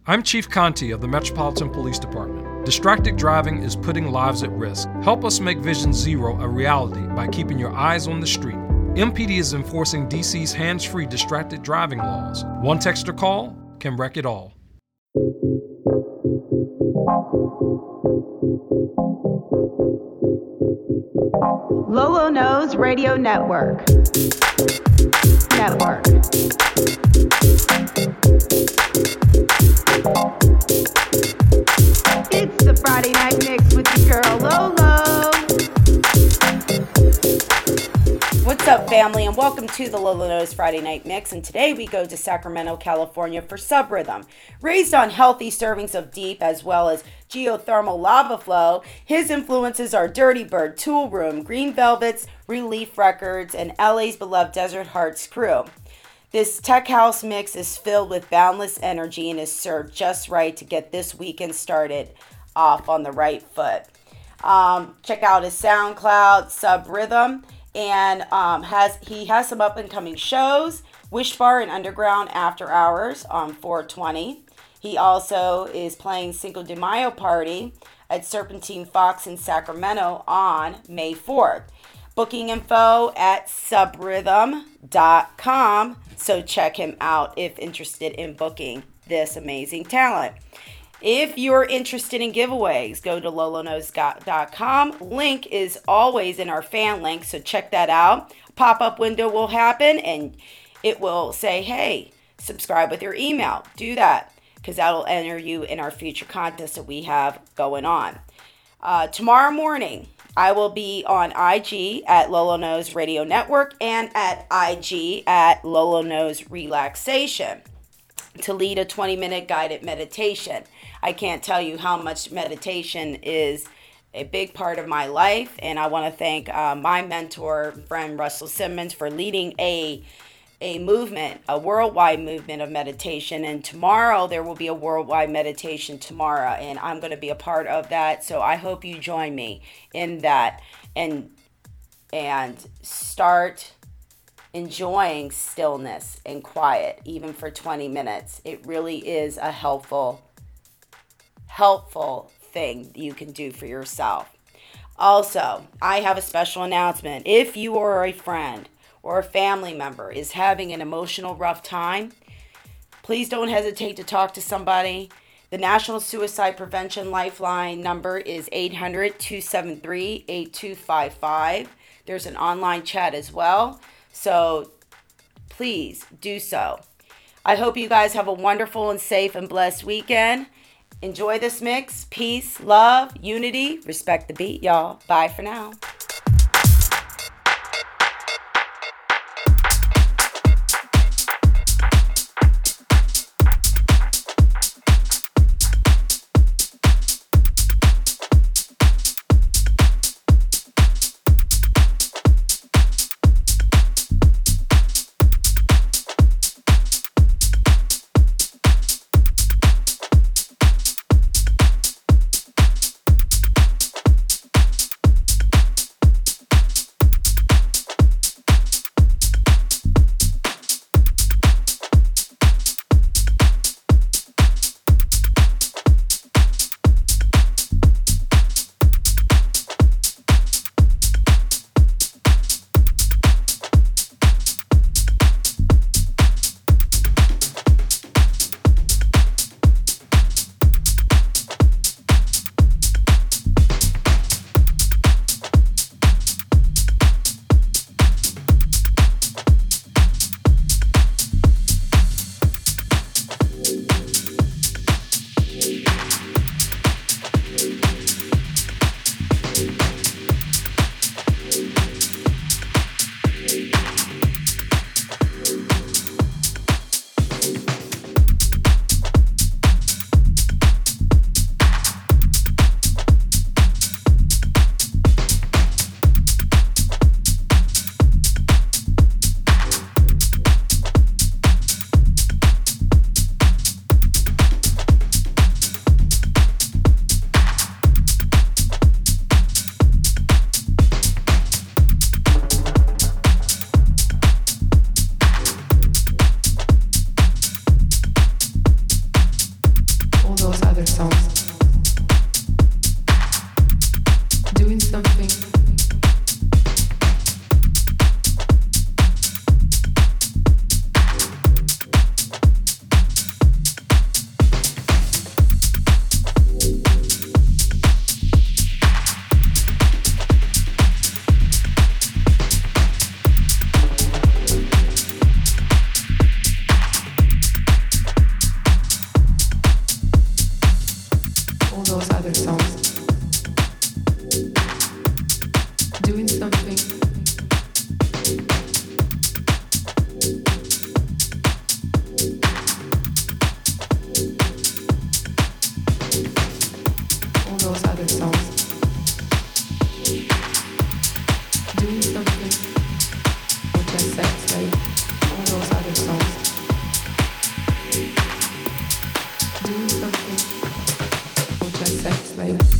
I'm Chief Conti of the Metropolitan Police Department. Distracted driving is putting lives at risk. Help us make Vision Zero a reality by keeping your eyes on the street. MPD is enforcing DC's hands-free distracted driving laws. One text or call can wreck it all. Lolo Knows Radio Network. It's the Friday Night Mix with your girl Lolo. What's up, family, and welcome to the Lolo Knows Friday Night Mix. And today we go to Sacramento, California for Sub Rhythm. Raised on healthy servings of deep as well as geothermal lava flow, his influences are Dirty Bird, Tool Room, Green Velvets, Relief Records, and LA's beloved Desert Hearts crew. This tech house mix is filled with boundless energy and is served just right to get this weekend started off on the right foot. Check out his SoundCloud, Sub Rhythm, and he has some up-and-coming shows, Wish Bar and Underground After Hours on 420. He also is playing Cinco de Mayo Party at Serpentine Fox in Sacramento on May 4th. Booking info at subrhythm.com, so check him out if interested in booking this amazing talent. If you're interested in giveaways, go to loloknows.com. Link is always in our fan link, so check that out. Pop-up window will happen, and it will say, hey, subscribe with your email. Do that, because that'll enter you in our future contests that we have going on. Tomorrow morning, I will be on IG at Lolo Knows Radio Network and at IG at Lolo Knows Relaxation to lead a 20-minute guided meditation. I can't tell you how much meditation is a big part of my life, and I want to thank my mentor, friend Russell Simmons, for leading a movement, a worldwide movement of meditation. And tomorrow there will be a worldwide meditation tomorrow, and I'm going to be a part of that. So I hope you join me in that and start enjoying stillness and quiet, even for 20 minutes. It really is a helpful thing you can do for yourself. Also, I have a special announcement. If you are a friend or a family member is having an emotional rough time, please don't hesitate to talk to somebody. The National Suicide Prevention Lifeline number is 800-273-8255. There's an online chat as well, so please do so. I hope you guys have a wonderful and safe and blessed weekend. Enjoy this mix. Peace, love, unity, respect the beat, y'all. Bye for now. those other songs. Doing something. Those other songs. Doing something. All those other songs. Doing something. Or just sex, right? All those other songs. Doing something. Or just sex, right?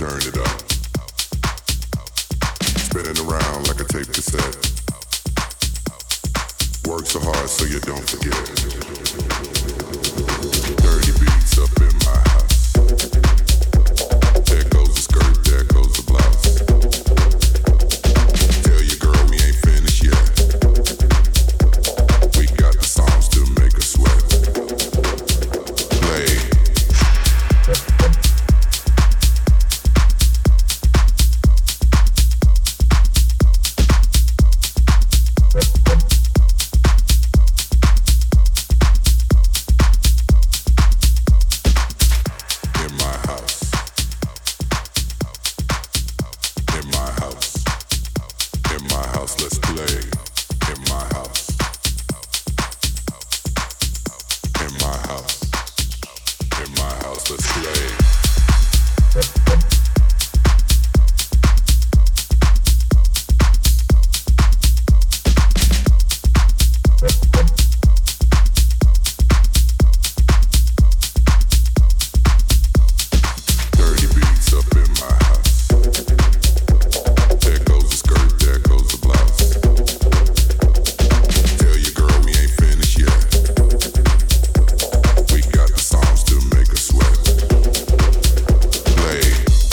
turn it up. Spinning around like a tape cassette. Work so hard so you don't forget. Dirty beats up in my house. There goes the skirt, there goes the blouse. Tell your girl we ain't finished yet. We got the songs to make her sweat. Play. Play.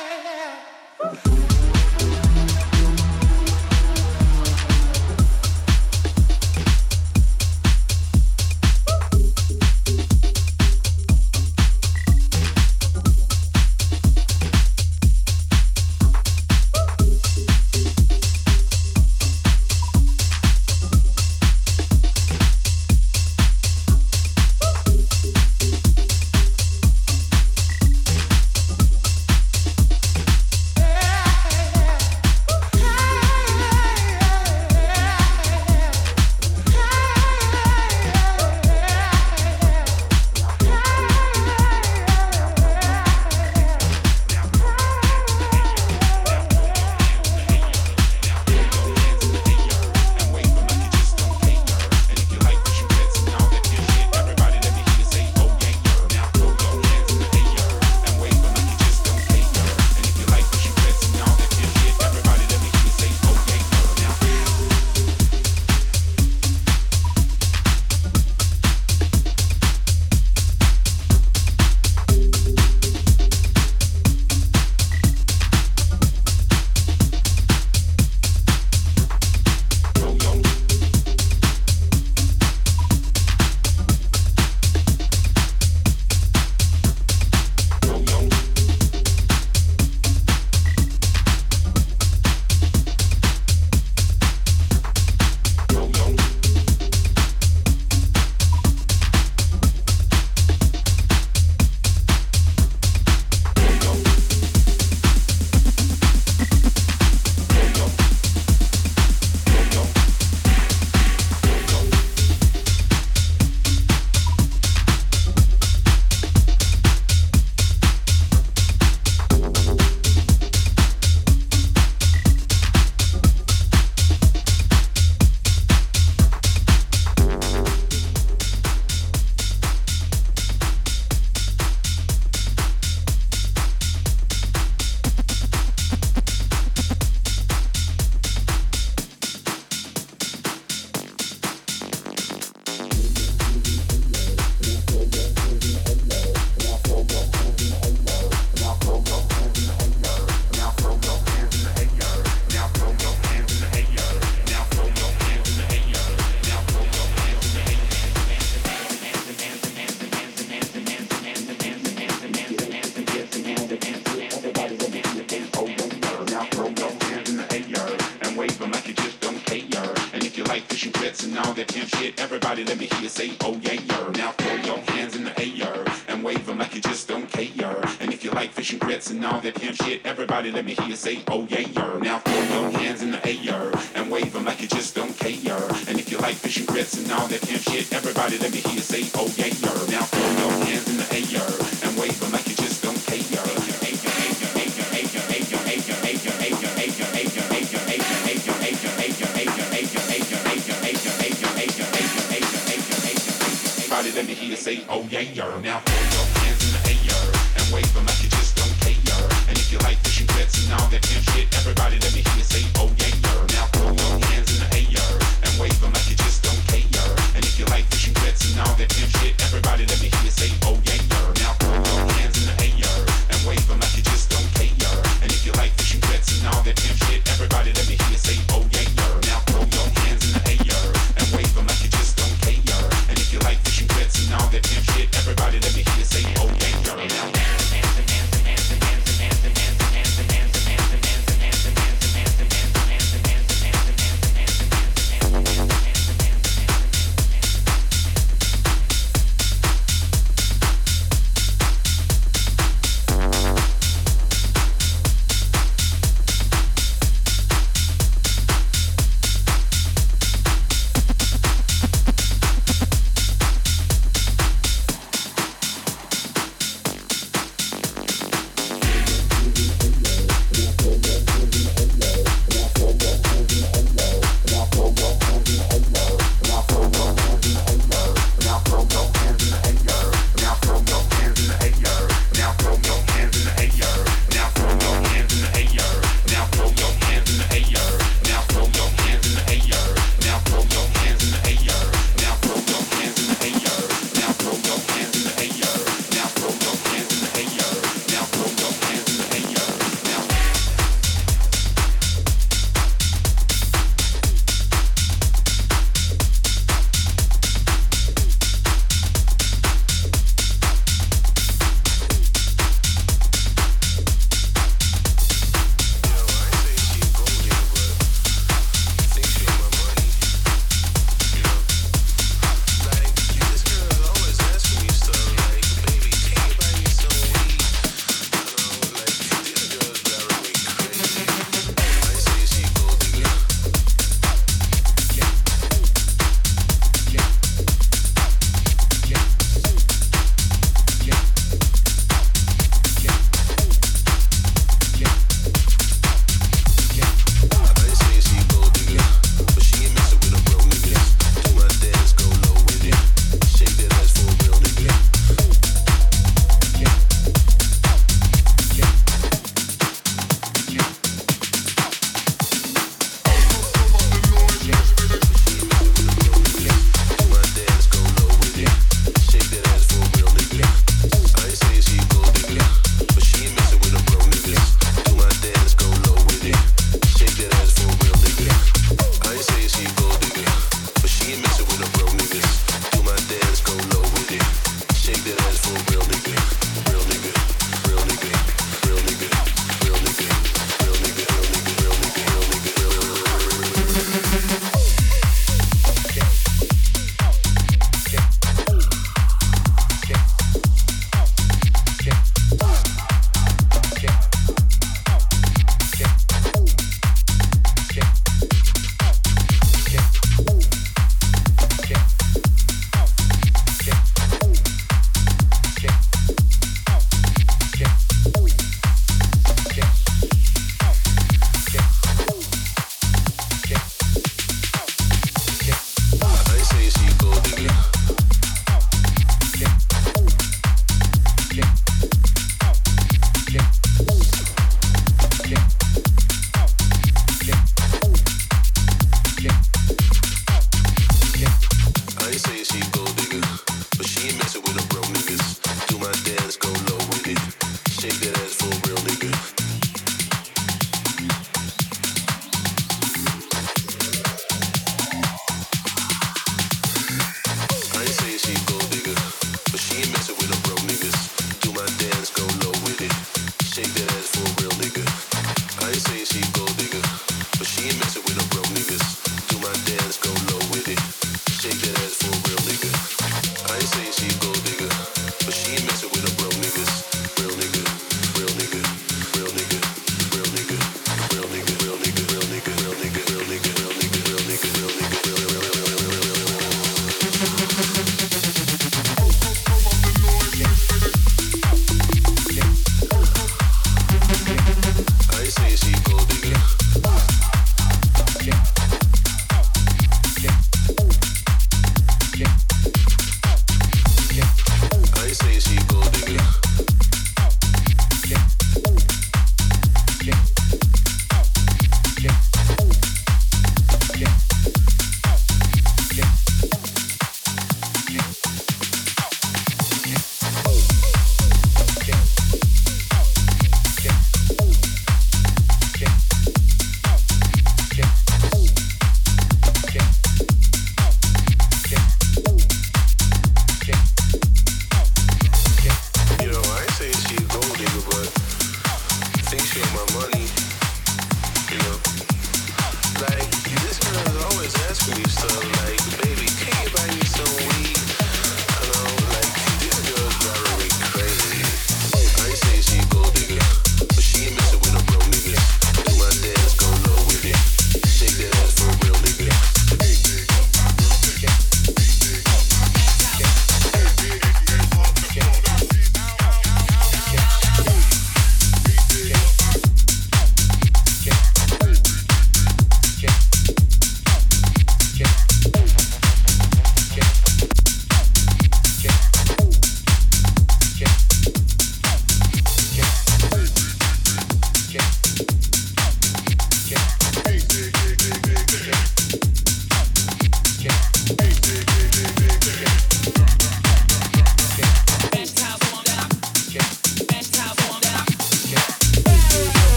Let me hear you say, oh yeah, yer. Now throw your hands in the air and wave them like you just don't care. And if you like fish and grits and all that pimp shit, everybody let me hear you say, oh yeah, yer. Now throw your hands in the air and wave them like you just don't care. Everybody let me hear you say, oh yeah, yer. Now throw your hands in the air and wave them like you just don't care. And if you like fish and grits and all that pimp shit, everybody let me hear you say, oh yeah, yer. Now throw your hands in the air and wave them like you just don't care. And if you like fish and grits and all that pimp shit, everybody let me hear you say, oh yeah, yer. Now throw your hands in the air and wave them like you just don't care. And if you like fish and grits and all that pimp shit, everybody let me hear you say, oh yeah, yer. Now throw your hands in the air and wave them like you just don't care. And if you like fish and grits and all that pimp shit, everybody let me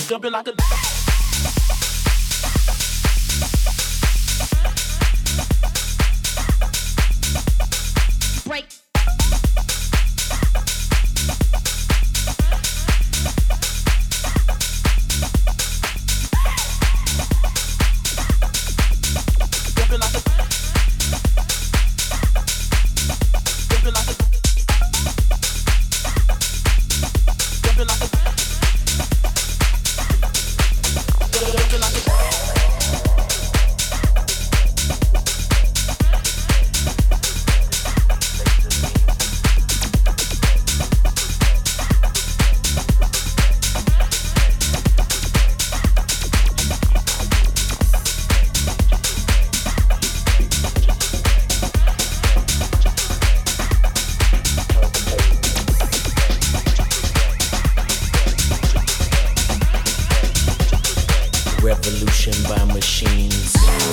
Jumping like a break. jumping like a jumping like a jumping like a jumping like a revolution by machines.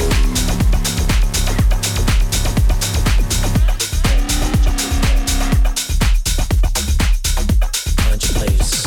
Find your place.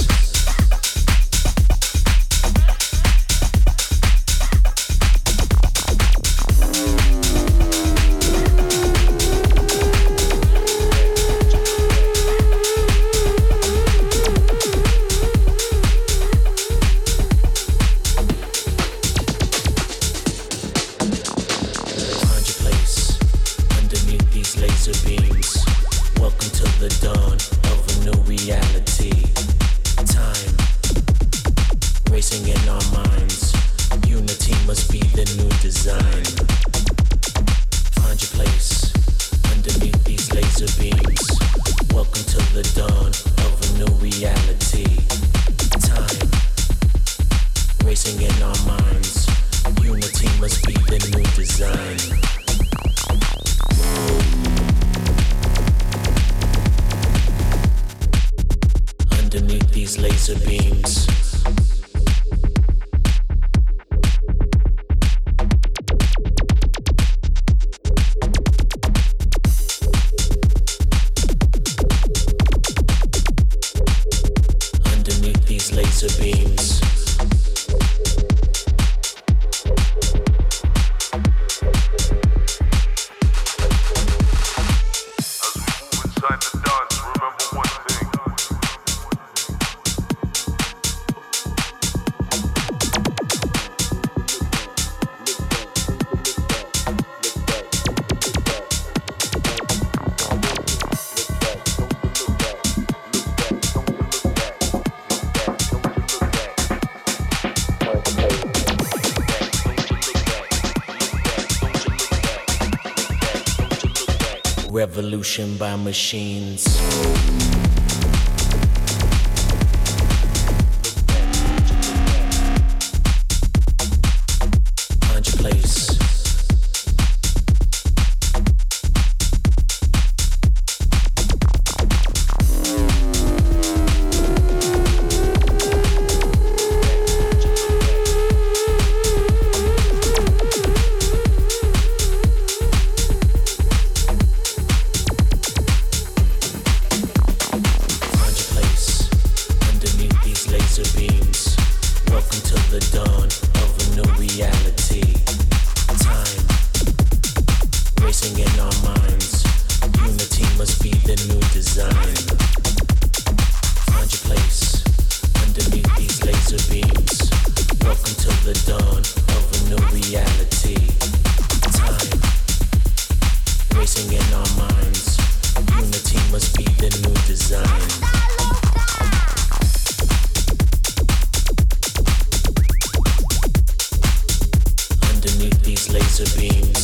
Welcome to the dawn of a new reality. Time racing in our minds. Unity must be the new design. Find your place underneath these laser beams. Welcome to the dawn of a new reality. Time racing in our minds. Unity must be the new design. Underneath these laser beams. Underneath these laser beams. Revolution by machines. Find your place. Welcome to the dawn of a new reality. Time racing in our minds. Unity must be the new design. Find your place underneath these laser beams. Welcome to the dawn of a new reality. Time racing in our minds. Unity must be the new design. Underneath these laser beams.